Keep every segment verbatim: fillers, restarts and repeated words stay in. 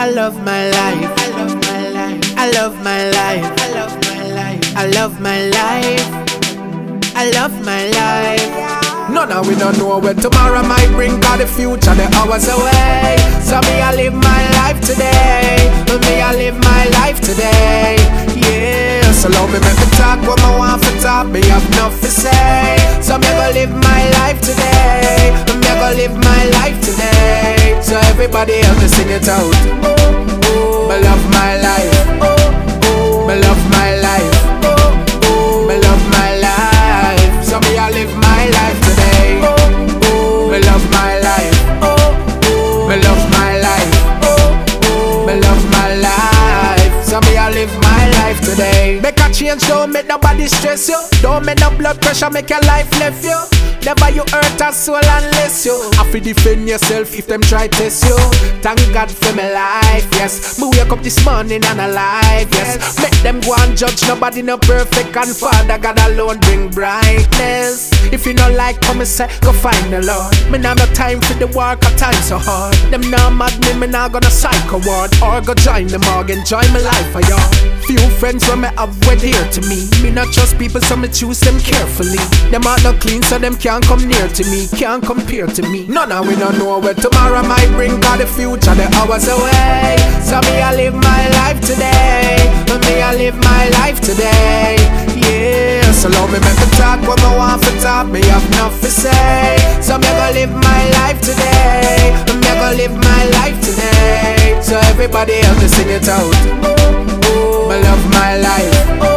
I love my life. I love my life. I love my life. I love my life. I love my life. I love my life. None of we don't know where tomorrow might bring, cause the future the hours away. So me I live my life today. Me I live my life today. Yeah, so love me make me talk what I want for talk. Me have enough to say. So me I go live my life today. Me I go live my life today. So everybody else sing it out. Me love my life. Me love my life. Me love my life. So me I live my life today. Me love my life. Me love my life. Me love my life. So me I live my life today. Make a change, don't make nobody stress you. Don't make no blood pressure make your life left you. Never you hurt a soul unless you have to defend yourself if them try test you. Thank God for my life, yes. Me wake up this morning and alive, yes. Make them go and judge, nobody no perfect. And Father God alone bring brightness. If you not like come and say, go find the Lord. Me nah no time for the work, a time so hard. Them nah mad me, me nah gonna psycho ward. Or go join the morgue, enjoy my life for y'all. Few friends when me have went here to me. Me not trust people so me choose them carefully. Them are not clean so them can't come near to me, can't compare to me. None of we don't know where tomorrow might bring, cause the future the hours away. So me I live my life today. Me I live my life today. Yeah, so love me make me talk what I want for talk. Me have enough to say. So me I go live my life today. Me I go live my life today. So everybody else sing it out. Me love my life.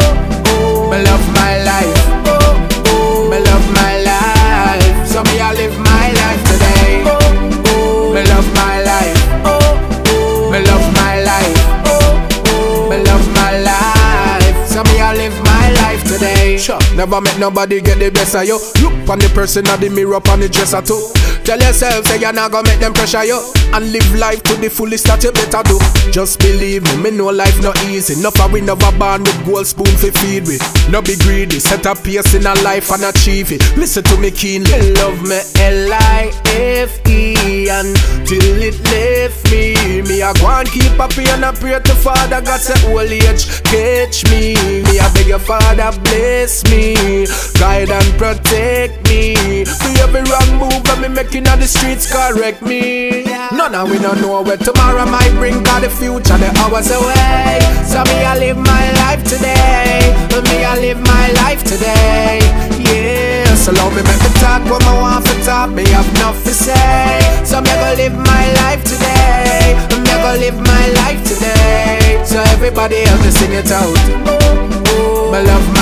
Me love my life. Me love my life. So me I live my life today. Me love my life. Me love my life. Me love my life. So me I live my life today. Sure, never make nobody get the best of you. Look on the person of the mirror on the dresser too. Tell yourself say you're not gonna make them pressure you. And live life to the fullest that you better do. Just believe me, me know life not easy. Enough of we never born with gold spoon for feed with. No be greedy, set a pace in a life and achieve it. Listen to me keenly. Love me L I F E until it left me. Me a go and keep up and I pray to Father God say old age catch me. Me a beg your Father bless me, guide and protect me. For every wrong move that me making on the streets correct me. None of we don't know where tomorrow might bring, cause the future the hours away. So me I live my life today. Me I live my life today. Yeah, so love me make me talk what I want for talk. Me have enough to say. So me I go live my life today. Me I go live my life today. So everybody else sing it out. Me love